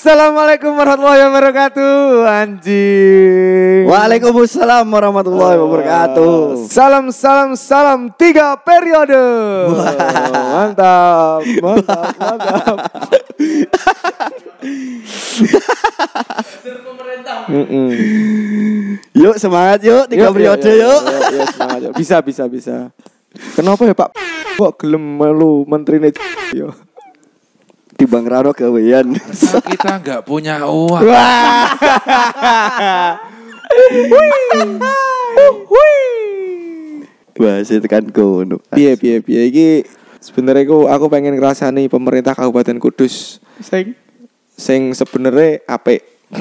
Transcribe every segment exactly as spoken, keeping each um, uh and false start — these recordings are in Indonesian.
Assalamualaikum warahmatullahi wabarakatuh. Anjing. Waalaikumsalam warahmatullahi wabarakatuh. Salam salam salam tiga periode. Mantap, mantap, mantap. Yuk semangat yuk tiga periode yuk. Yuk, yuk semangat yuk. Bisa bisa bisa. Kenapa ya Pak? Kok gelem melu menterine yo. Timbang raro gawean. Kita nggak punya uang. Wah. Wah, saya tekan kono. Piye piye piye iki sebenarnya aku aku pengen ngrasani pemerintah Kabupaten Kudus Sing sing sebenarnya apik.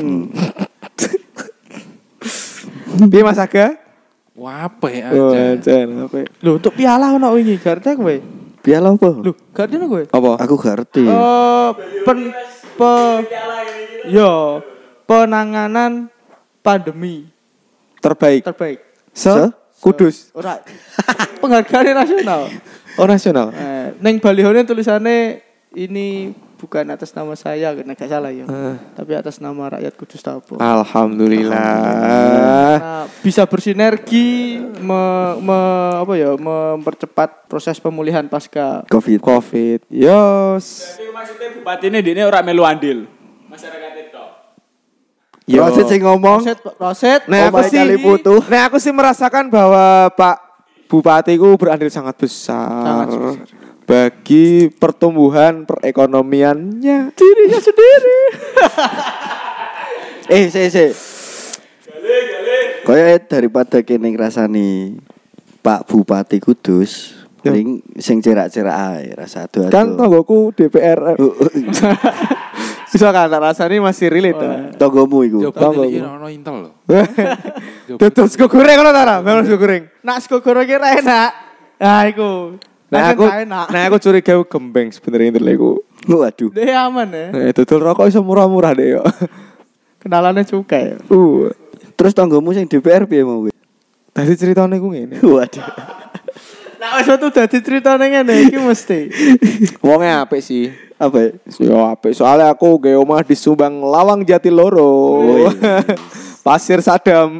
Piye Mas Aga? Wape Oh, aja. jan apik. Lho, untuk piala ono wingi garte kowe. piala apa? Lho, garte ono kowe. Apa? Aku gak ngerti. Eh, pen pe yo penanganan pandemi Terbaik. terbaik. Se Se? Kudus. Ora penghargaan nasional. Oh nasional. Eh, ning balihone tulisannya ini bukan atas nama saya, nek gak salah ya. Eh. Tapi atas nama rakyat Kudus Tapo. Alhamdulillah. Nah, bisa bersinergi me, me, apa ya mempercepat proses pemulihan pasca Covid. Covid. Yos. Jadi maksudnya bupati ini dia orang melu andil. Masyarakat itu. Yo. Roset sing ngomong. Roset, Roset. Nah, aku Omahe sih kali putu. Nah, aku sih merasakan bahwa Pak Bupati ku berandil sangat besar. Sangat besar. Bagi pertumbuhan perekonomiannya. dirinya sendiri. Eh, se se. Kaya daripada kene ngrasani Pak Bupati Kudus, Yo. paling sing cerak-cerak ae rasa adu-adu. Kan tonggoku D P R. Bisa kan tak rasanya masih relate. Oh, ta? Tonggomu iku. Coba Tonggo. iki ono Intel loh. Tutus sego goreng ngono ta ra? Memang sego goreng. Nak sego goreng kira enak. Nah, iku. Nah aku enak. nah aku curiga gembeng sebenarnya internet iku. Waduh. Dia aman ya. Nah, dodol rokok iso murah-murah deh yo. Kenalannya cukai. Uh. Terus tonggomu sing D P R piye mau? Tadi ceritanya ku ngene. Waduh. Nah, wis tuh dadi critane ngene iki mesti. Wonge apik sih. Apa? Yo apik soalnya aku ge omah di Subang Lawang Jatiloro. Wih. Pasir Sadam.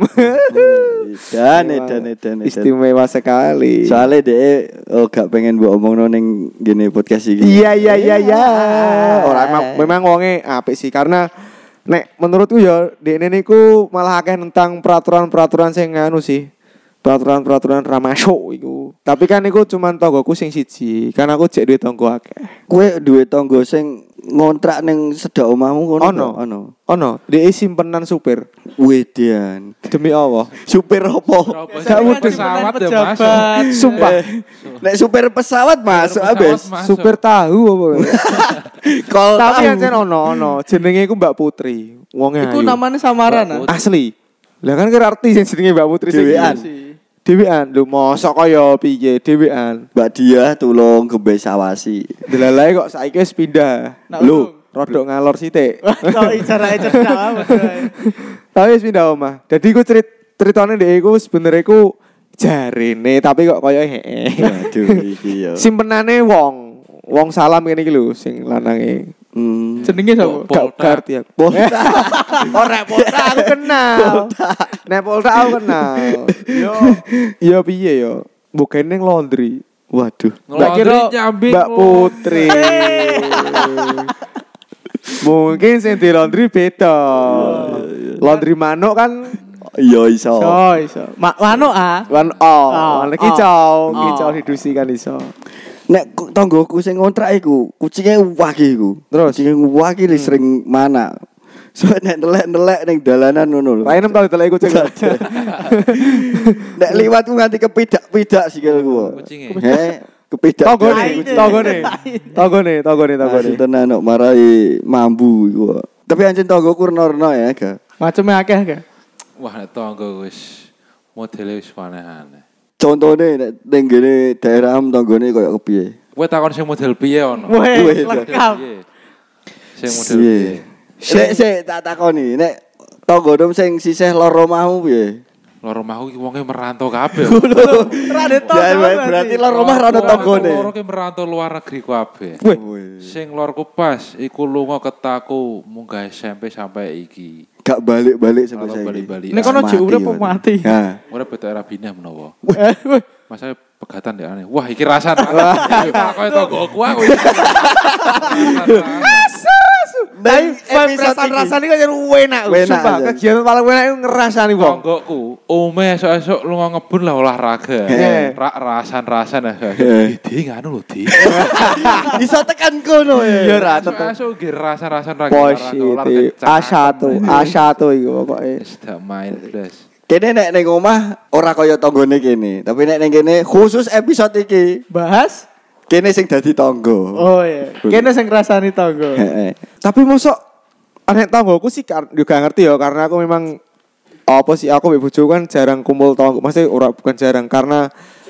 Dan edan edan edan. Istimewa sekali. Soalnya deh, oh gak pengen buat omong neng gini podcast ini. Iya iya iya iya. Orang memang, memang wonge apik sih karena nek menurutku ya dekne niku malah akeh tentang peraturan-peraturan sing anu sih. Peraturan-peraturan ra masuk iku. Tapi kan iku cuman tonggoku sing siji, kan aku jek duwe tonggo akeh. Kue duwe tonggo sing ngontrak neng sedak omahmu ngono. Ono. ta? Ono. Ono, dhek simpenan supir. Wedian. Demi Allah. Supir opo? Gak mudeng. Pesawat ya Pejabat. masuk. Sumpah. Nek supir pesawat masuk Pesawat abis. masuk. Supir tahu apa? Kol Tapi tahu. ancen ono ono. Jenenge iku Mbak Putri. Wonge Iku ayu. namanya samaran ah. Asli. Lah kan kira artis yang jenenge Mbak Putri sing Dewean. Dewean, lho mosok kaya piye dewean. Mbak Dia tulung gembe sawasi. Delalae kok saiki wis pindah. Nak Lho, urung. rodok ngalor sithik. Kok icara cerdak amat. Tapi wis pindah omah. Dadi iku cerit ceritane ndek iku sebenere iku jarene tapi kok kaya heeh. Waduh iki yo. Simpenane wong. Wong salam ngene iki lho sing lanange. Hmm. Jenenge sapa? Polda. Gak garti aku. Polda. Ora Polda aku kenal. Nek Polda aku kenal. Yo, yo piye yo? Bukan ning laundry. Waduh. Mbak kira nyambi Mbak Putri. Mungkin sing di laundry beda. Laundry manuk kan Iya iso. Oh, iso. Mak wano ah. wan oh, Oh, wan kicau, oh. kicau didusi kan iso. Nek ku- tonggoku sing ngontrak iku, kucinge wagi iku. Terus? kucinge wagi li sering mana. So nek nelek-nelek ning dalanan ngono lho. Lah enem tau delek kucing. Nek liwat ku nganti kepidak-pidak sikilku. Kucinge. He, kepidak. Tonggone, Lain. tonggone. Tonggone, tonggone, tonggone. Asli tenan kok marai mambu iku. Tapi anjen tonggoku reno-reno ya, ga. Maceme akeh akeh. Wah, nek tonggo wis modele wis aneh-aneh. Contone nek ning gene daerah am tonggone koyo kepiye? Kowe takon sing model piye ono? Weh, Weh, lengkap. Piye? Sing model Piye? piye? Sik sik tak takoni, nek tonggomu sing sisih loro omahmu piye? Lor omahku iki wonge merantau kabeh. Rade tok. Ya berarti lor omah ra ono tanggane. Loro ki merantau luar negeri kabeh. Wih. Sing lorku pas iku lunga ketaku munggah S M P sampai iki. Gak balik-balik sampai Kalau saya. balik-balik. Nek kono jek urip apa mati? Nah, Ora betok era bina menawa. Eh, weh. Masa pegatan ya aneh. Wah, iki rasan. Koyo tonggoku aku. Tapi rasan-rasan iki kan enak. Enak Sumpah, aja. kegiatan paling enak iku ngerasani wong. Tonggoku, ome esuk-esuk lunga ngebun lah olahraga. Heeh. Rak rasan-rasan ya. Heeh. Di nganu lho, Di. bisa tekan kono ya. Iya ra tetep Esuk nggih rasan-rasan ra Positif. A satu, A satu iki pokoke. Wis tak main blas. Kene nek ning omah ora kaya tanggane kene, tapi nek ning kene khusus episode iki bahas. kene sing dadi tangga. Oh iya. Kene sing ngrasani tangga. Heeh. Tapi mosok anek tanggoku sih kar- juga ngerti ya karena aku memang apa sih aku mbek bojoku kan jarang kumpul tanggo. Maksudnya ora bukan jarang karena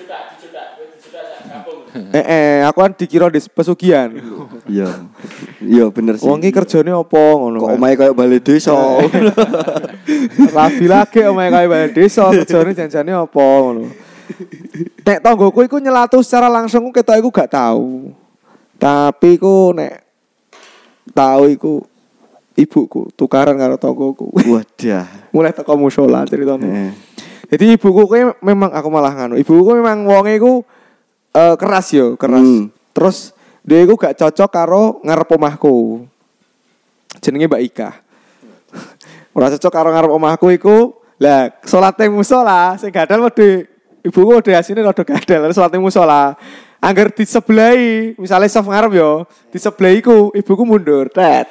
Eh, eh, aku kan dikira di pesugihan. Iya. Iya bener sih. Wong iki kerjane apa ngono Kok kan. omahe kaya balik desa. Rabi lagi omahe kaya balik desa, kerjane janjane apa ngono. Nek tanggoku iku nyelatu secara langsung ku ketok iku gak tahu. Tapi ku nek tahu iku ibuku tukaran karo tanggoku. Wadah. Mulai teko musala ceritane. Heeh. Jadi ibuku kuwi memang aku malah nganu. Ibuku kuwi memang wonge iku eh, keras yo, keras. Hmm. Terus dia iku gak cocok karo ngarep omahku. Jenenge Mbak Ika. Ora cocok karo ngarep omahku iku. Lah, salate musala sing gadal wedhe ibuku wedhe asine rada gadal, salate musala. Angger disebelahi, misale saf ngarep yo, disebelahi iku ibuku mundur. Tet.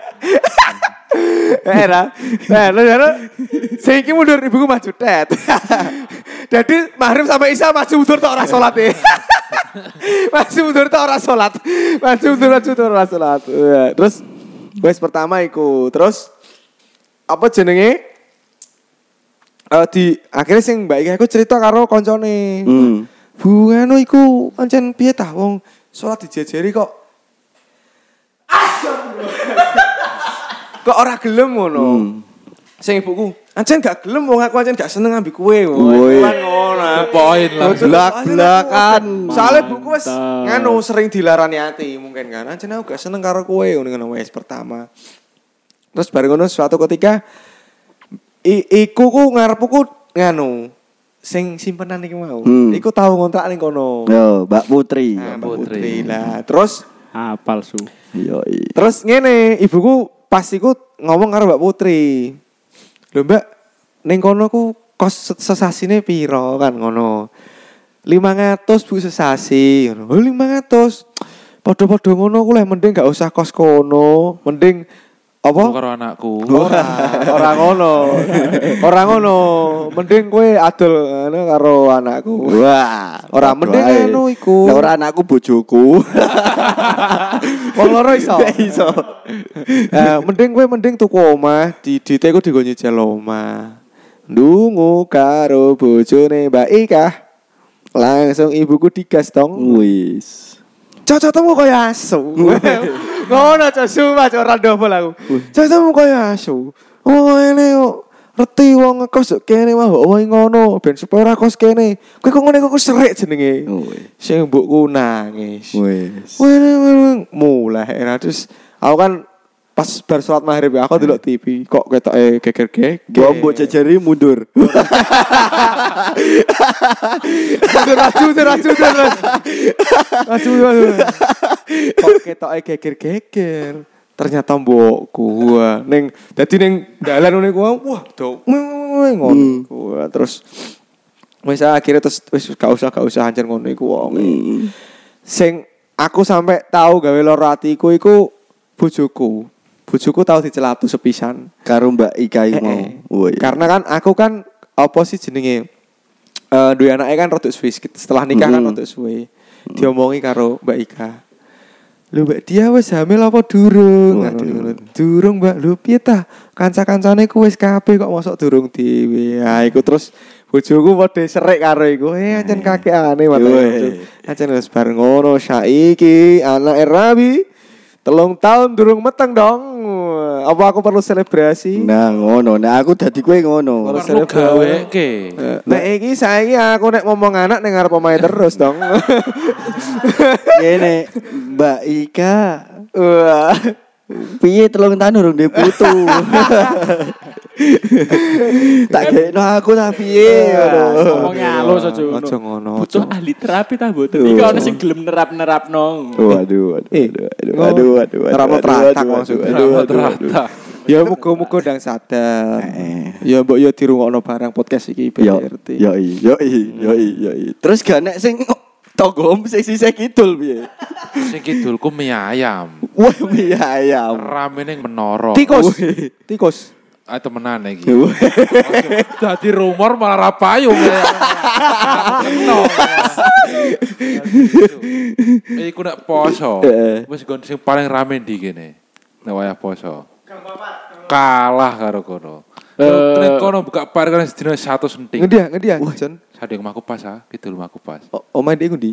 Eh ra. Nah, lho sing iki mundur ibuku maju tet. Jadi maghrib sampai isya maju mundur tok ora salat e. Maju mundur tok ora salat. Maju mundur maju mundur ora salat. Ya, terus wes pertama iku, terus apa jenenge? Eh di akhirnya sing Mbak Ika iku cerita karo koncone. Hmm. Bu anu iku pancen piye tah wong salat dijejeri kok. Kok ora gelem ngono. Hmm. Sing ibuku, ancen gak gelem wong aku ancen gak seneng ambi kowe. Woi. Kan ngono. Poin lah. Blak-blakan. Soale buku wis nganu sering dilarani ati mungkin kan. Ancen aku gak seneng karo kowe ngono wis pertama. Terus bareng ngono suatu ketika i- iku ku ngarepku nganu sing simpenan iki mau. Hmm. Iku tau ngontrak ning kono. Yo, Mbak Putri. Nah, Mbak Putri. Putri lah. Terus Ah, palsu. Yo. Terus ngene, ibuku pas iku ngomong karo Mbak Putri. Lho Mbak, ning kono ku kos sesasine piro kan ngono. lima ratus Bu sesasi ngono. Oh lima ratus. Padha-padha ngono ku lek mending gak usah kos kono, mending apa? Karo anakku. Ora, ora ngono. Ora ngono. Mending kowe adol ngono karo anakku. Wah, Ora mending anu iku. Lah ora anakku bojoku. Wong loro iso. Iso. Eh, mending kowe mending tuku omah, di dite ku digo nyicil omah. Ndungu karo bojone Mbak Ika. Langsung ibuku digas tong. Wis. Cocok temu kaya asu. Ngono cocok sumpah cocok ora double aku. Cocok temu kaya asu. Oh ngene kok reti wong ngekos kene mah wae ngono ben supaya ora kos kene. Kowe kok ngene kok serik jenenge. Wis. Sing mbokku nangis. Wis. Wene mulai era terus aku kan pas bar salat maghrib aku delok T V kok ketoke geger-geger. Mbok jejeri mundur. Raju raju terus. Raju raju. Kok ketoke geger-geger. Ternyata mbokku wah ning dadi ning dalan ngene ku wah do ngono ku terus wis akhirnya terus wis gak usah gak usah hancur ngono iku wong. Sing aku sampai tahu gawe loro atiku iku bojoku. Bojoku tahu dicelatu sepisan Karo Mbak Ika iki mau. Eh, eh. Woi. Karena kan aku kan apa sih jenenge eh duwe anake kan rodok suwe setelah nikah kan Mm. rodok suwe. Diomongi karo Mbak Ika. Lho Mbak dia wis hamil apa durung? Waduh. Ngono. Durung Mbak. Lho piye ta? Kanca-kancane ku wis kabeh kok mosok durung dhewe. Ha iku terus bojoku padha serik karo iku. Eh ancen kakekane Woi. wae. Ancen wis bareng ngono saiki anake Rabi telung tahun durung meteng dong. Apa aku perlu selebrasi? Nah, ngono. Nah, aku dadi kowe ngono. Kalau Perlu gaweke. Nek iki saiki aku nek ngomong anak ning ngarep omahe terus dong. Ngene, Mbak Ika. Wah. Piye telung tahun urung ndek putu. Tak gekno aku ta piye ngono. Ngomongnya halus aja ngono. Aja ngono. Butuh ahli terapi ta mboten. Iki ono sing gelem nerap-nerapno. Waduh, waduh, Eh, waduh, waduh, waduh, nerapno waduh, teratak waduh, maksudnya. waduh, waduh, waduh. Rata. Ya muga-muga ndang sadar. Ya mbok yo dirungokno barang podcast iki Yo, B R T. yo, yo, yo, yo. Terus gak nek sing togom sing sisih kidul piye? Sing kidulku mie ayam. Wah, mie ayam. Rame ning menara. Tikus. Tikus. Ah temenan iki. Dadi rumor malah ra payu. Keno. Iku nek poso. Wis gon sing paling rame ndi kene. Nek wayah poso. Kalah karo kono. Eh nek kono buka par kan sedina satu senting. Ngendi ya, ngendi ya, Jon? Sadeng omahku pas ah, kidul omahku pas. Omahe ndek ngendi?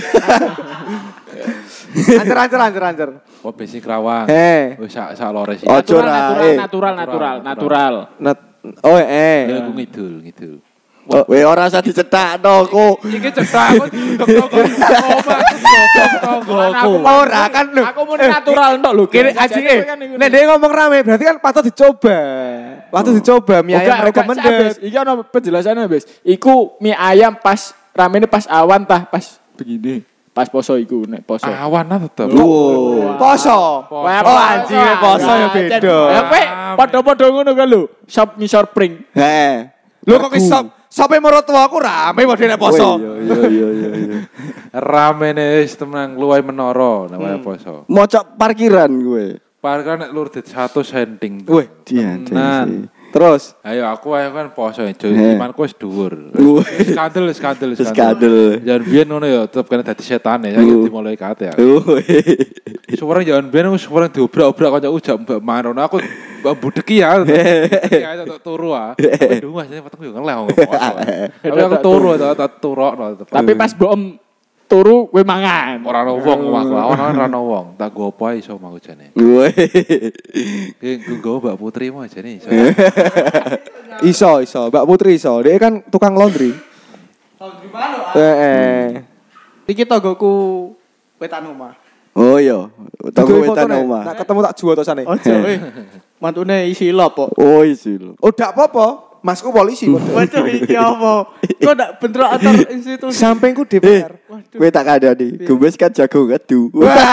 Ancer ancer ancer ancer. Oh besi Kerawang. Eh. Wis sak sak lores iki. Ojo Natural, ra, natural, eh. natural, natural, natural. Nat Oh eh. Ya aku ngidul, ngidul. Weh ora usah dicetakno kok. Iki cetak aku toko omah toko. Ora kan lho. Aku mau natural entok lho. Kene ajine. Nek dia ngomong rame berarti kan patut dicoba. Patut dicoba mie ayam recommended. Iki ono penjelasannya, Bes. Iku mie ayam pas ramene pas awan tah pas begini. Pas poso iku nek poso. Awan lah tetep. Wow. Poso. Poso. Oh anjing poso ya beda. Ya kowe padha-padha ngono kan lho. Shop misor pring. Heh. Lho kok iso sampai mertua aku rame wae nek poso. Iya iya iya iya. Ramene wis temen luwih menara nek wayah poso. Mocok parkiran gue. Parkir nek lur dit satu senting. Wih, Dia Tenan. terus Ayo aku ayo kan poso jo Eh. imanku wis dhuwur. Wih. Skandal skandal Skandal. Jangan biyen ngono ya tetep kena dadi setane ya Uh. dimulai kate ya. Wih. Suwareng jangan biyen wis suwareng diobrak-obrak kanca ujak mbak marono aku mbak budeki ya. Ya tak turu ah. Aduh Mas petengku yo ngeleh wong poso. Tapi aku turu tak turokno tetep. Tapi pas boem turu kowe mangan. ora ono wong omahku, ono ora ono wong. Tak go apa ae iso omahku jane. Wih. Ki nggo Mbak Putri mah jane iso. iso iso Mbak Putri iso. Dia kan tukang laundry. Laundry mana? Eh. eh. Iki tonggoku wetan omah. Oh iya. Tunggu Duwe wetan fotone. omah. Nak ketemu tak jual tosane. Ojo eh. Mantune isi lop kok. Oh isi lho. Oh ndak apa-apa. Masku polisi kok. Waduh iki apa? Kok ndak bentrok antar institusi. Sampingku D P Eh, R. kowe tak kandhani. Gembes kan jago ngadu.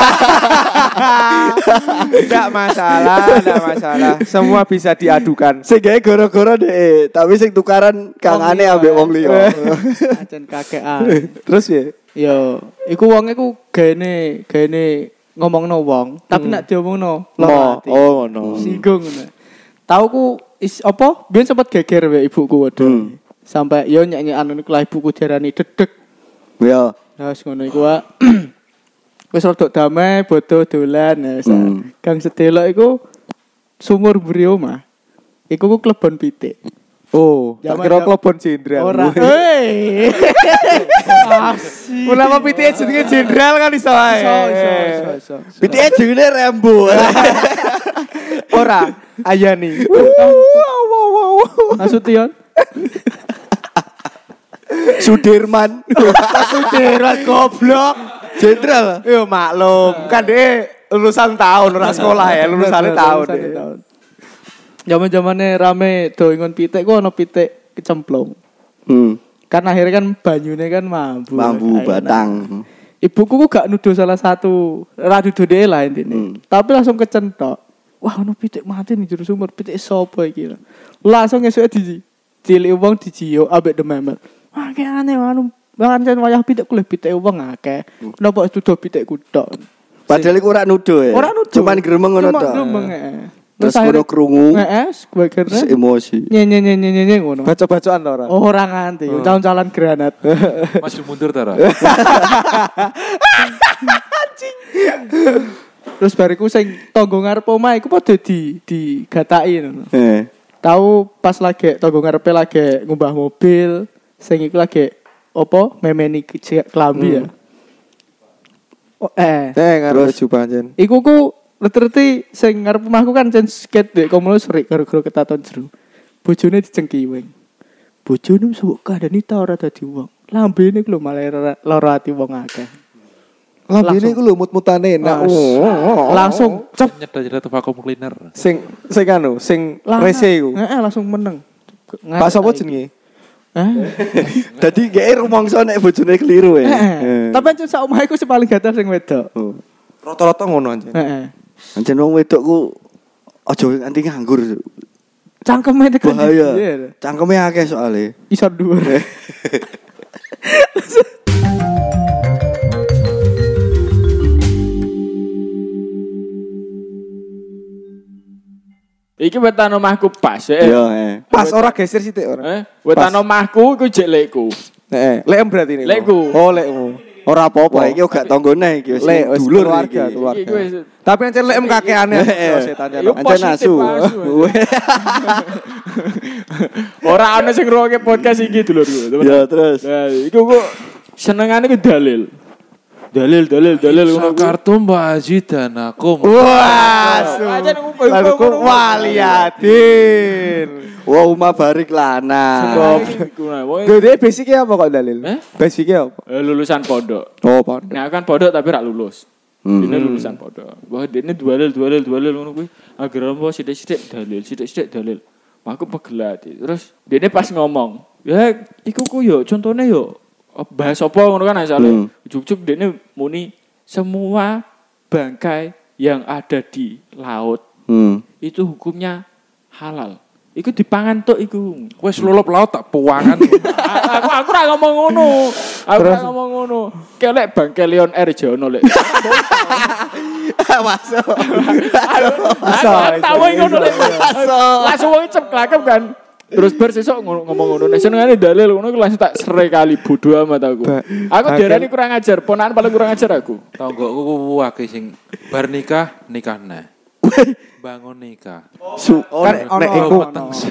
Enggak masalah, enggak masalah. Semua bisa diadukan. Sing gawe goro-goro deh, tapi sing tukaran kangane ambek wong liya. Ajen kakean. Terus ya? Yo, iku wong iku gene gene ngomongno wong, tapi nek diomongno Mo. ati. Oh ngono. Singgung ngono. Tau ku is apa? Biyen sempat geger wae ibuku waduh. Hmm. Sampai yo nyanyi anu niku lah ibuku diarani dedeg. Ya. Nah, wis ngono iku wae. Wis rada damai, bodo dolan ya. Hmm. Gang sedelok iku sumur mburi omah. Iku ku klebon pitik. Oh, tak Zaman- kira klebon jenderal. Ora. Hei. Asik. Kenapa pitike jenenge jenderal kan iso ae. Iso, iso, iso, iso. Pitike jenenge Rembo. Ora, Ayani. Wow wow wow. Nasution. Sudirman. Jenderal goblok. Jenderal. Yo maklum, kan dia lulusan tahun ora sekolah ya, lulusannya tahun. tahun. Zaman-zamane rame doingon pitik ku ono pitik kecemplung. Hmm. Kan akhirnya kan banyune kan mambu. Mambu Akhirnya. batang. Ibuku ku gak nuduh salah satu, ra nuduh dhewe lah intine. Hmm. Tapi langsung kecentok. Wah, ono pitik mati ning jero sumur, pitik sapa iki? Langsung esuke di cilik wong dijiyo ambek dememet. Wah, ki aneh anu pancen wayah pitik kuwi pitik wong akeh. Kenapa nuduh pitik kutok? Padahal iku ora nuduh ya. Ora nuduh. Cuman gremeng ngono Cuma tok. gremeng, heeh. Terus akhirnya- kudu krungu. Heeh, gue kira Terus emosi. nyenye nyenye nyenye ngono. Baca-bacaan ta ora? Oh, ora nganti, calon-calon granat. Maju mundur ta ora? Terus bariku sing tangga ngarep omah iku padha di digataki ngono. Eh. Tahu pas lagi tangga ngarepe lagi ngubah mobil, sing iku lagi apa memeni ke- klambi ya. Oh, eh, Eh, ngaruh baju pancen. iku ku Reti-reti sing ngarep omahku kan jan skate dek komulo serik karo-karo ketaton jero. Bojone dicengkiwing. Bojone wis mbok kandhani ta ora dadi wong. Lambene ku lho malah lara ati wong akeh. Lambene iku lho mut-mutane enak. Oh, langsung cep Nyedot-nyedot vacuum cleaner. sing sing anu, sing rese iku. Heeh, langsung meneng. Pak sapa jenenge? Hah? Dadi gek rumangsa nek bojone keliru ya. Heeh. Tapi ancen sak omah iku sing paling gatel sing wedok. Oh. Rata-rata ngono anjen. Heeh. Ancen wong wedok ku aja nganti nganggur. Cangkeme tekan. Bahaya. Iya. Cangkeme akeh soalnya. Isor dhuwur. Iki wetan omahku pas ya. Iya, eh. Pas ora geser sithik ora. Eh, wetan omahku iku jek lekku. Heeh, lekem berarti ini. Lekku. Oh, lekmu. Ora Wah, apa-apa. iki gak tanggone iki wis Lek wis dulur keluarga, iki. keluarga. Iki wis- Tapi ancen lekem kakeane setan Yo Ancen positif asu. asu. Ora ana sing ngrungokke podcast iki dulurku. Ya terus. Nah, iku kok senengane ku dalil. Dalil, dalil, dalil ngono ku. Kartu Mbak Haji dan aku. Wah, Aja nang lalu ku waliatin. Wah, Uma barik lanang. Gede basicnya apa kok dalil? Eh? Basicnya apa? Eh, lulusan pondok. Oh, pondok. Nah, kan pondok tapi rak lulus. Hmm. Ini lulusan pondok. Wah, dene dalil, dalil, dalil ngono kuwi. Agar apa sithik-sithik dalil, sithik-sithik dalil. Aku pegelat. Terus dene pas ngomong, ya iku ku yo contone yo bahas apa ngono kan asale. Hmm. Juk-juk dene muni semua bangkai yang ada di laut Hmm. itu hukumnya halal. Iku dipangan tok iku. Wes lulup laut tak puangan. aku aku ora ngomong ngono. Aku ora ngomong ngono. Kelek bangke Lion Air jono lek. Masuk. Aku tahu ngono lek. Langsung wong ceplakep kan. Terus bar sesuk ngomong ngono. Nek senengane dalil ngono iku langsung tak sere kali bodoh amat aku. Aku diarani kurang ajar, ponakan paling kurang ajar aku. Tonggoku ku akeh sing bar nikah, nikah neh. Bangun nikah. Su Kan Nek nek iku iku.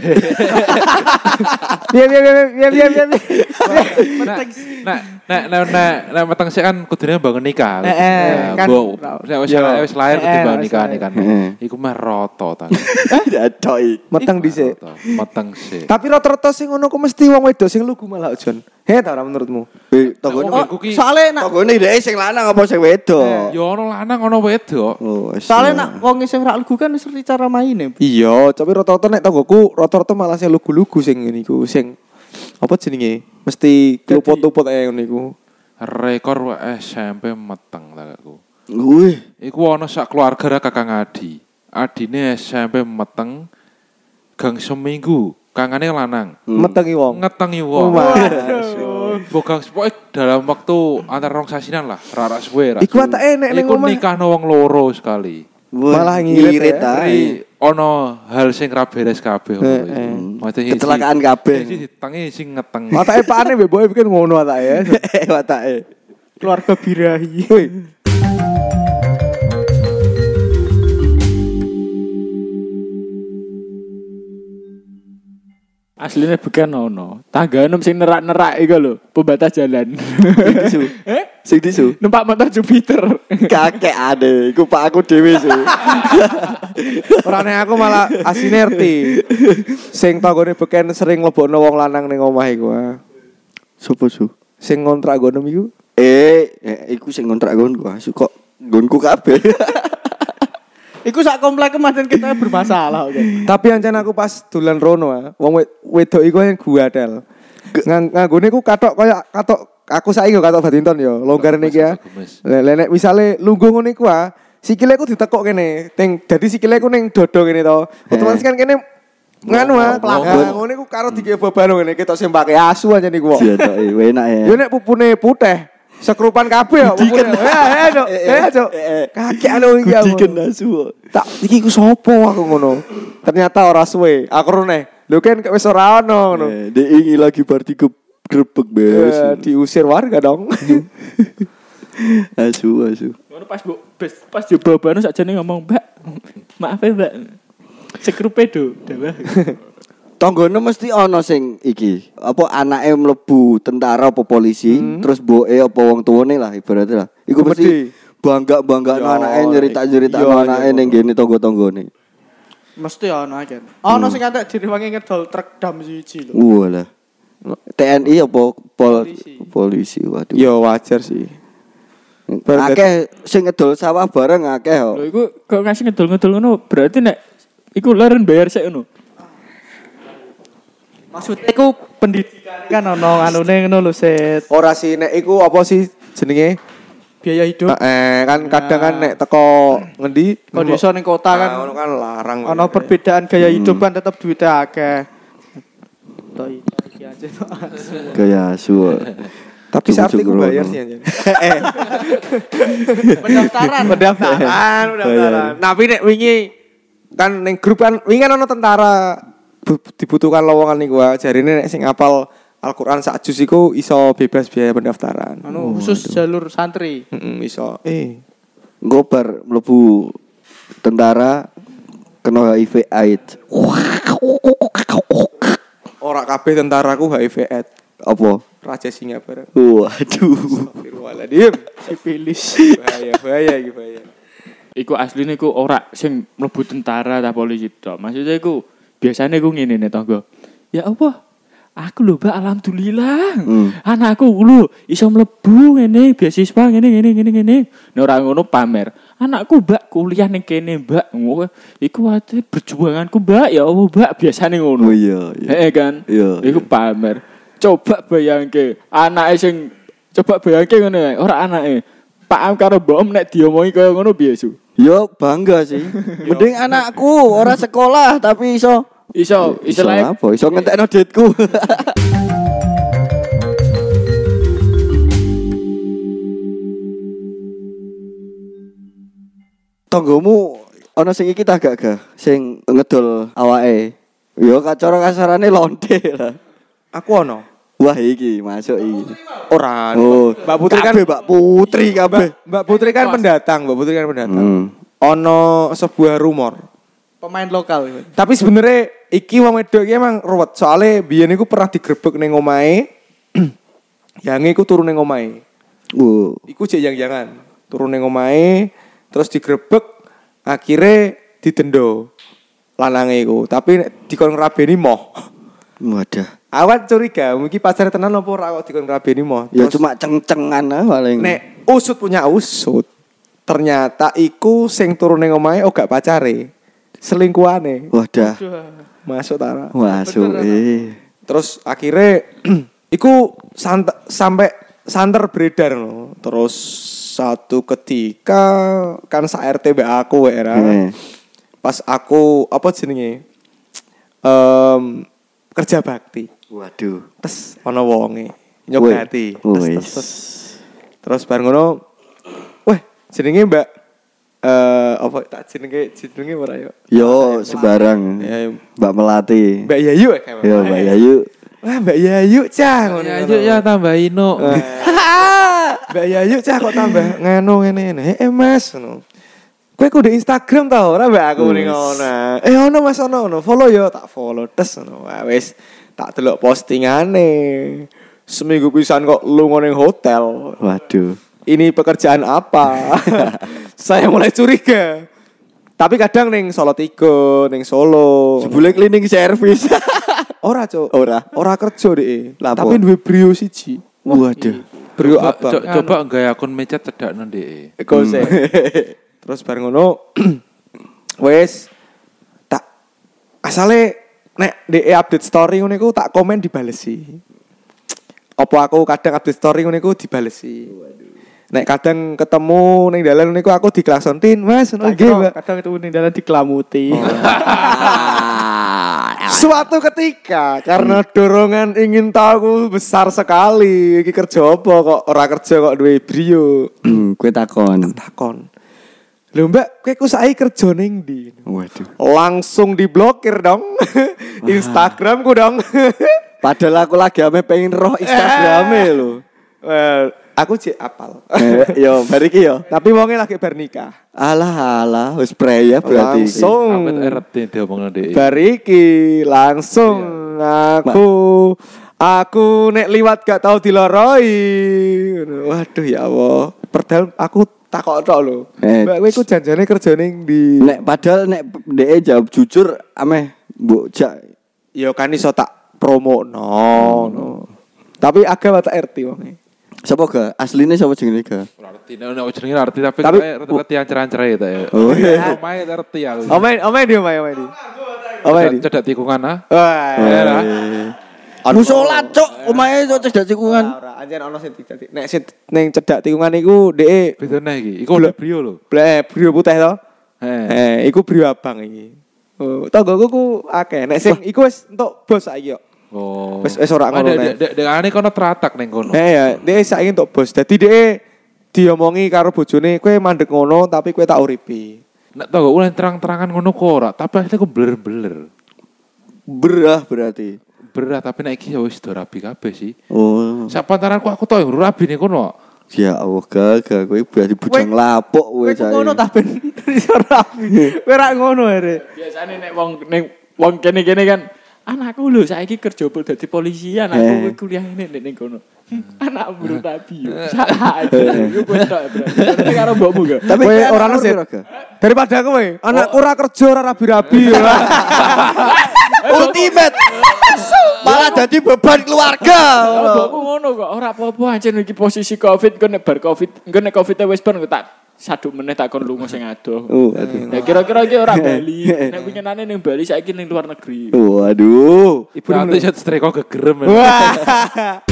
Biar biar biar biar biar biar. Nek nek nek nek nek nek meteng sik kan kudune bangun nikah. Eh, eh, kan- Bo, nek wis wis lahir Eh, kudu bangun wis nikah lahir. kan. Eh. Iku mah roto ta. Doi. Meteng dhisik. Roto, Meteng sik. Tapi rata-rata sing ngono ku mesti wong wedok sing lugu malah Jon. He ta ora menurutmu? Eh, tanggone Tonggoku ki Soale nak tanggone dhek sing lanang apa sing wedok? ya ono lanang ono wedok. Oh, wis. soale nak wong sing rak lugu kan wis ngerti cara maine. Iya, tapi rata-rata nek tanggoku rata-rata malah sing lugu-lugu sing ngene iku sing apa jenenge? Mesti keluput-luput ae ngono iku. Rekor S M P meteng ta aku. Wih, Iku ono sak keluarga ra Kakang Adi. Adine S M P meteng gang seminggu. Kangane lanang. Metengi wong. Ngetengi wong. Waduh. Bogang pokoke dalam waktu antara rong sasinan lah, ra ra suwe ra. Iku atake nek ning Iku omah. nikahno wong loro sekali. Malah ngirit ya. Ri ono hal sing ra beres kabeh ngono. Eh, eh. Maksudnya kecelakaan kabeh. Sing ditengi sing ngeteng. Watake pakane mbok bikin ngono watake. Watake. Keluarga birahi. Woi. Aslinya bukan ono. Tangga enam sing nerak-nerak iku lho, pembatas jalan. Disu. Eh? Sing disu. Numpak motor Jupiter. Kakek ade, iku pak aku dhewe su. Ora nek aku malah asine ngerti. Sing tanggone beken sering mlebokno wong lanang ning omah iku. ah. Sopo su? Sing ngontrak gono iku. Eh, eh, iku sing ngontrak nggonku asu kok nggonku kabeh. Iku sak komplek kemarin kita bermasalah oke. Tapi ancen aku pas dolan rono ah, wong wed- wedok iku yang guadel. Ngang nganggone ku katok kaya katok aku saiki yo katok badminton yo, longgar niki ya. Lek lek misale lungguh ngene iku ah, sikile ku ditekuk kene. Ting dadi sikile ku ning dodo kene to. Otomatis kan kene nganu ah, pelanggan ngene ku karo dike beban ngene ketok sing pake asu aja niku kok. Iya tok, enak ya. Yo nek pupune putih, sekrupan kabeh ya pupune. Ya ya Cuk. Ya Cuk. Kakek anu iki aku. Diken asu. Tak iki ku sapa aku ngono. Ternyata ora suwe. Aku rene. Lho kan wis ora ono ngono. Eh, Dek ingin lagi party ke grebek Eh, bes. diusir warga dong. Asu asu. Ngono pas bu, pas, pas jebobane sakjane ngomong, "Mbak, maaf ya, Mbak. Sekrupe do, dawa." Tanggane mesti ana sing iki. Apa anake mlebu tentara apa polisi, terus mboke apa wong tuwane lah ibaratnya lah. Iku Komedi. mesti bangga-bangga Yo, anake nyerita-nyerita iya, anake iya. ning ngene tangga-tanggane. Mesti ono akeh. Ono sing katek direwangi ngedol truk dam siji lho. Walah. T N I apa pol Polisi. polisi waduh. Ya wajar sih. Akeh sing ngedol sawah bareng akeh kok. Lho iku kok ngasih ngedol-ngedol ngono berarti nek iku leren bayar sik ngono. Maksudnya iku pendidikan kan ono anune ngono lho, Set. Ora sih nek iku apa sih jenenge? Biaya hidup. Eh kan kadang kan nek teko ngendi Kok desa ning kota kan Ah, ono kan larang. ono perbedaan gaya hidup kan tetep duitnya akeh. Tok iki aja tok. Gaya suwe. Tapi saat itu bayar sih anjir. Pendaftaran. Pendaftaran, pendaftaran. Tapi nek wingi kan ning grup kan wingi kan ono tentara bu- dibutuhkan lowongan niku wae. Jarine nek sing apal Al-Qur'an sak juz iku iso bebas biaya pendaftaran. Anu khusus jalur santri. Heeh, iso. Eh, Engko bar mlebu tentara kena H I V AIDS. ora kabeh tentaraku H I V AIDS. Apa? Raja singa bareng. Waduh. Astagfirullahaladzim. Sipilis. Bahaya, bahaya iki bahaya. Iku asline iku ora sing mlebu tentara ta polisi tok. Maksudnya iku biasane iku ngene nek tangga. Ya apa? Aku lho, Mbak, alhamdulillah. Hmm. Anakku lho iso mlebu ngene beasiswa ngene ngene ngene ngene. Nek ora ngono pamer. Anakku, Mbak, kuliah ning kene, Mbak. Ngono. Iku ate perjuanganku, Mbak. Ya Allah, Mbak, biasane ngono. Oh iya, iya. Heeh kan? Iya, Iku pamer. Coba bayangke anake sing coba bayangke ngono ae, ora anake. Pak Am karo Mbok Om nek diomongi kaya ngono piye, Su? Yo bangga sih. Mending anakku ora sekolah tapi iso Iso iso istilahnya apa? Iso ngentekno duitku. Tonggomu ana sing iki tak gak gak sing ngedol awake. Yo kacara kasarane lonte lah. Aku ono. Wah iki masuk iki. Ora. Oh, Mbak Putri kan kabeh, Mbak Putri kabeh. Mbak, Mbak Putri kan pendatang, Mbak Putri kan pendatang. Hmm. Ono sebuah rumor. Pemain lokal. Tapi sebenarnya iki wong wedok iki emang ruwet. Soale biyen iku pernah digrebek ning omahe. Yang iku turun ning omahe. Oh, Iku jek yang-jangan. Turun ning omahe terus digrebek akhirnya didendo lanange iku. Tapi nek dikon ngrabeni moh. wadah. Awan curiga, mungkin pacar tenan apa ora kok dikon ngrabeni moh. Ya Terus cuma ceng-cengan ah paling. nek usut punya usut. Ternyata iku sing turun ning omahe oh gak pacare. Selingkuhane. Wadah. Masuk Tara. Masuk eh. Terus akhirnya iku sant- sampai santer beredar no. Terus satu ketika kan sa R T mbak aku era. Eh. Pas aku apa jenenge? Em kerja bakti. Waduh. Terus ana wonge nyogati. Terus Wis. terus, terus. Terus bareng ngono. Weh, jenenge Mbak eh apa tak jenenge jenenge ora yo. Yo sembarang. Ya, Mbak Melati. Mbak Yayu ya kayak. Yo Mbak Yayu. Wah, Mbak Yayu cah ngono. Ya yuk ya tambahin no. Mbak Yayu cah kok tambah nganu ngene ngene. Eh Mas ngono. Kowe kudu Instagram ta ora Mbak aku ning ngono. Eh ono Mas ono ono. Follow yo tak follow tes ngono. Wah wis tak delok postingane. Seminggu pisan kok lunga ning hotel. Waduh. Ini pekerjaan apa? Saya mulai curiga. Tapi kadang ning Solo tiga, ning Solo. Jebule cleaning service. Ora, Cuk. Ora. Ora kerja dhek. Lapo? Tapi duwe brio siji. Waduh. Brio Coba, apa? co- coba enggak akun mecet cedak ndek. Eko se. Terus bareng ngono wes tak asale nek D E update story ngono iku tak komen dibalesi. Apa aku kadang update story ngono iku dibalesi. Nek kadang ketemu ning dalan ngono iku aku diklaksontin, Mas, ngono nggih, Mbak. Kadang itu ning dalan diklamuti. Suatu ketika karena dorongan ingin tahu besar sekali, iki kerja apa kok ora kerja kok duwe brio. Hmm, kowe takon. Takon. Lho Mbak, kowe ku saiki kerja ning ndi? Waduh. Langsung diblokir dong. Instagramku dong. Padahal aku lagi ame pengen roh Instagrame lho. Well, aku cek apal. Eh, yo bariki yo. Tapi wonge lagi bar nikah. Alah alah wis preya berarti. iki. Langsung. Amit eret diomongno ndek. Bar iki langsung aku aku nek liwat gak tau diloroi. Waduh ya Allah. Padahal aku takok tok lho. Eh. Mbak kowe iku janjane kerja ning ndi? Nek padahal nek dhek jawab jujur ameh mbok jak Ya kan iso tak promo no, no. Tapi agak watak R T wonge. sapa ga? Asline sapa jenenge ga? Arti nek jenenge arti tapi Tapi- kayak rata-rata yang ceran-cerai ta ya. Oh iya. Omae arti aku. Omae omae di omae omae di. Omae di. Cedak tikungan ah. Wah. Ya lah. Musola cok, omahe cok cedak tikungan. Ora, anjen ana sing dadi. Nek sing ning cedak tikungan iku dhek Bedane iki. Iku udah brio lho. blek brio putih to. Eh. Eh, iku brio abang iki. Oh, tanggoku ku akeh. Nek sing iku wis entuk bos saiki yo. Oh. Wis wis ora ngono. Dek dek dek ane kono teratak ning kono. Eh ya, dhek saiki entuk bos. Dadi dhek diomongi karo bojone, kowe mandek ngono tapi kowe tak uripi. Nek tau gak ulah terang-terangan ngono kok ora, tapi asline kok beler-beler. Berah berarti. Berat tapi nek iki ya wis do rabi kabeh sih. Oh. Sak pantaranku aku tau yang rabi ning kono. Ya Allah gagal kowe berarti bujang lapuk Kowe kowe ku saiki. ngono ta ben iso rapi. Kowe ra ngono ere. Biasane nek wong ning wong kene-kene kan anakku lho saiki kerja pol dadi polisi Eh. anakku kuliah ini nek ning kono. Anak buru rabi yo. Salah aja. Yo kowe tok berarti. Tapi karo mbokmu gak? Tapi Kowe kayak ora anak nesir. piro, Ga? Daripada kowe, anakku ora kerja ora rabi-rabi. Ultimate. Malah jadi beban keluarga. Kalau mbokmu ngono kok ora apa-apa ancen iki posisi Covid kok nek bar Covid, engko nek Covid wis bar tak saduk meneh tak kon lunga sing adoh. Oh, aduh. Ya kira-kira iki ora Bali. Nek winginane ning Bali saiki ning luar negeri. Waduh. Ibu nanti set streko gegerem. Wah.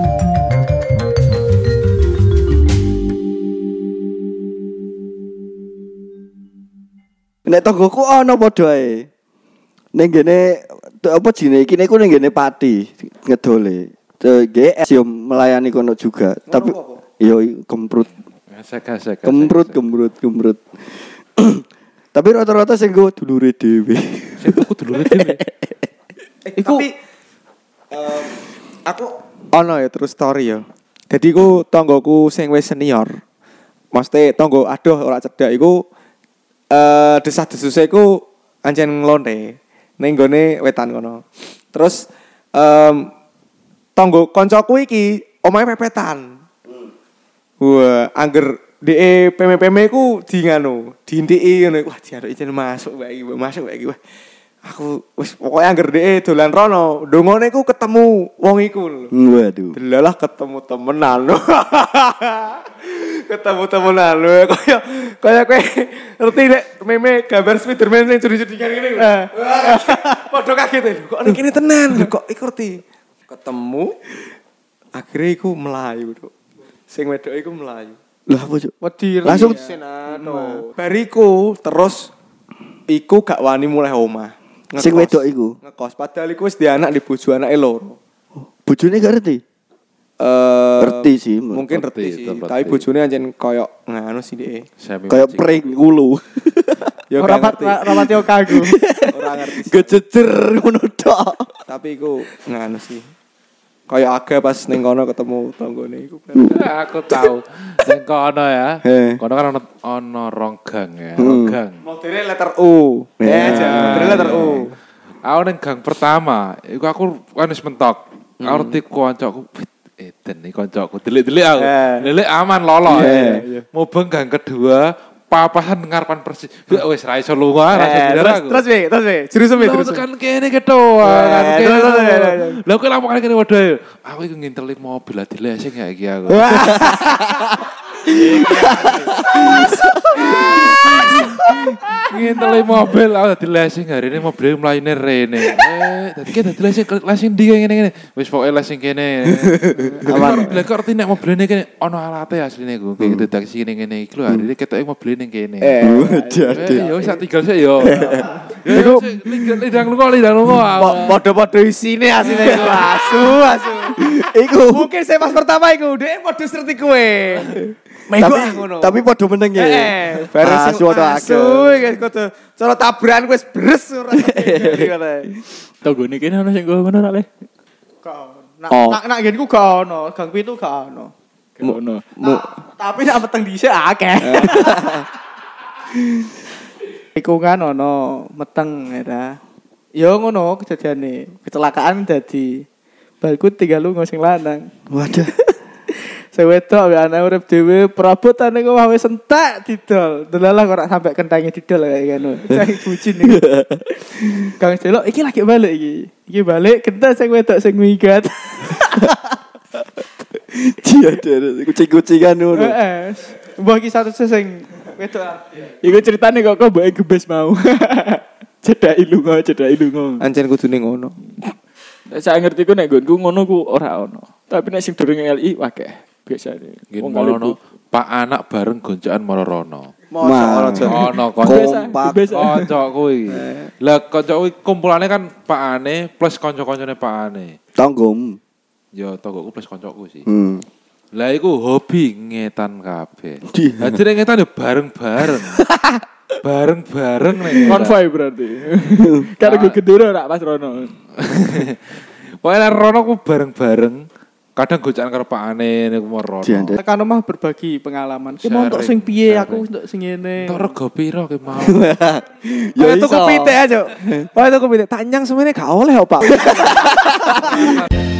Nek tonggoku ana padha ae. Ning gene t- apa jenenge iki niku ning gene Pati ngedole. G S yo melayani kono juga, tapi yo kemprut, Gesek-gesek. kemprut, kemprut, kemprut. Tapi rata-rata sing go dulure dhewe. Sing tuku dulure dhewe. Iku tapi em, aku ono ya terus story ya. Jadi ku tonggoku sing wis senior. Maksudnya tonggo aduh ora cedak iku eh desah-desuse iku anjen nglonte ning gone wetan kono. Terus em tonggo koncoku iki omahe pepetan. Wah, angger dhek P M P M ku di nganu, diintiki ngono. Wah, diarek ijen masuk wae iki, masuk wae iki. Wah. Aku wis pokoke angger dhek dolan rono, ndongone ku ketemu wong iku lho. Waduh. Delalah ketemu temenan lho. Ketemu temenan lho. Kaya kaya kowe ngerti nek meme gambar Spiderman sing curi-curingan ngene lho. Padha kaget lho. Kok ning kene tenan lho kok iku ngerti. Ketemu akhirnya iku melayu, Duk. Sing wedok iku melayu. Lah apa cuk? Wedi Langsung- senano. Bariku terus iku gak wani mulai omah. Sing Ngekos. wedok iku. Ngekos padahal iku wis di anak di bojo anake loro. Bojone gak ngerti. Eh Ngerti sih. mungkin Ngerti, ngerti sih, ngerti. tapi bojone anjen koyo nganu sih dhek. Kayak prank ulu. Ya Ora gak ngerti. rapati kagu. Ora ngerti. sih. Gejejer ngono tok. Tapi iku nganu sih. Kayak aga pas ning kono ketemu tanggane iku. Aku tahu. Ning kono ya. Eh. Kono kan ono ono ronggang ya, Hmm. ronggang. Modele letter U. Eh Eh. aja, modele letter U. Aku ning gang pertama, iku aku kan wis mentok. Aku ngerti koncoku Eden iki koncoku delik-delik aku. Eh. Delik aman lolo. Eh. Mubeng gang kedua, papasan ngarepan persis. Ya wis ra iso lunga, ra iso Eh, bidara terus aku. terus we, terus we. Jurus we, Lah jurus. tekan kene kedoa, Eh, kan kene. terus, terus, terus, terus. Lah kok lapokan kene waduh. Aku iku nginteli mobil dilesing ya iki aku. Nginteli mobil aku dadi lesing hari ini mobil mlayune rene. Eh, dadi ki dadi lesing lesing ndi ngene-ngene. Wis pokoke lesing kene. Aman. Lah kok arti nek mobilene kene ono alate asline ku. Kayak deteksi ngene-ngene iki lho hari ini ketoke mobil ning kene. Eh. Jadi. Eh, yo sak tinggal sik yo. Iku lidang lunga lidang lunga. Podo-podo isine asine iku asu, asu. Iku. Mungkin saya pas pertama iku, dhek podo seperti kowe. Tapi tapi padha meneng ya. Eh, bareng Asu ada asu iki kudu cara tabrakan wis bres ora ngene. Tanggone kene ono sing ngono ora le. Nak Oh. nak nak ngene ku gak ono, gang pitu gak ono. Ngono. Tapi nak peteng dhisik akeh. Iku kan ono meteng ya. Yo ngono kejadiane. Kecelakaan dadi balku tiga lunga sing lanang. Waduh. Sing wedok ambek anak urip dhewe perabotane kok wis entek didol. Delalah kok ora sampe kentange didol kayak ngono. Cah bucin iki. Kang delok iki lagi balik iki. Iki balik kental sing wedok sing migat. Dia ada kucing-kucingan ngono. Heeh. Mbah iki satu sing wedok. Iku ceritane kok kok mbake gebes mau. Cedhaki lunga, cedhaki lunga. Ancen kudune ngono. Saya ngerti ku nek nggonku ngono ku ora ono. Tapi nek sing durung L I akeh. Biasane. Nggih ngono Pak anak bareng gonjakan marorono. Mah, Ono kanca kompak. kanca kuwi. Lah kanca kuwi kumpulane kan Pak Ane plus kanca-kancane Pak Ane. Tanggum. Ya tonggoku plus kancaku sih. Hmm. Lah iku hobi ngetan kabeh. Di- Dadi nek ngetan ya bareng-bareng. Bareng-bareng nek. Konvoy berarti. Karo gue gendera ora Mas Rono. Pokoknya Rono ku bareng-bareng. Kadang gocakan karo Pak Ane niku Rono. Diandel. Tekan omah berbagi pengalaman. Ki mau untuk sing piye aku untuk sing ngene. Entuk rego piro ki mau. Ya itu kepitik aja. Oh itu kepitik. Tanyang semuanya gak oleh, Pak.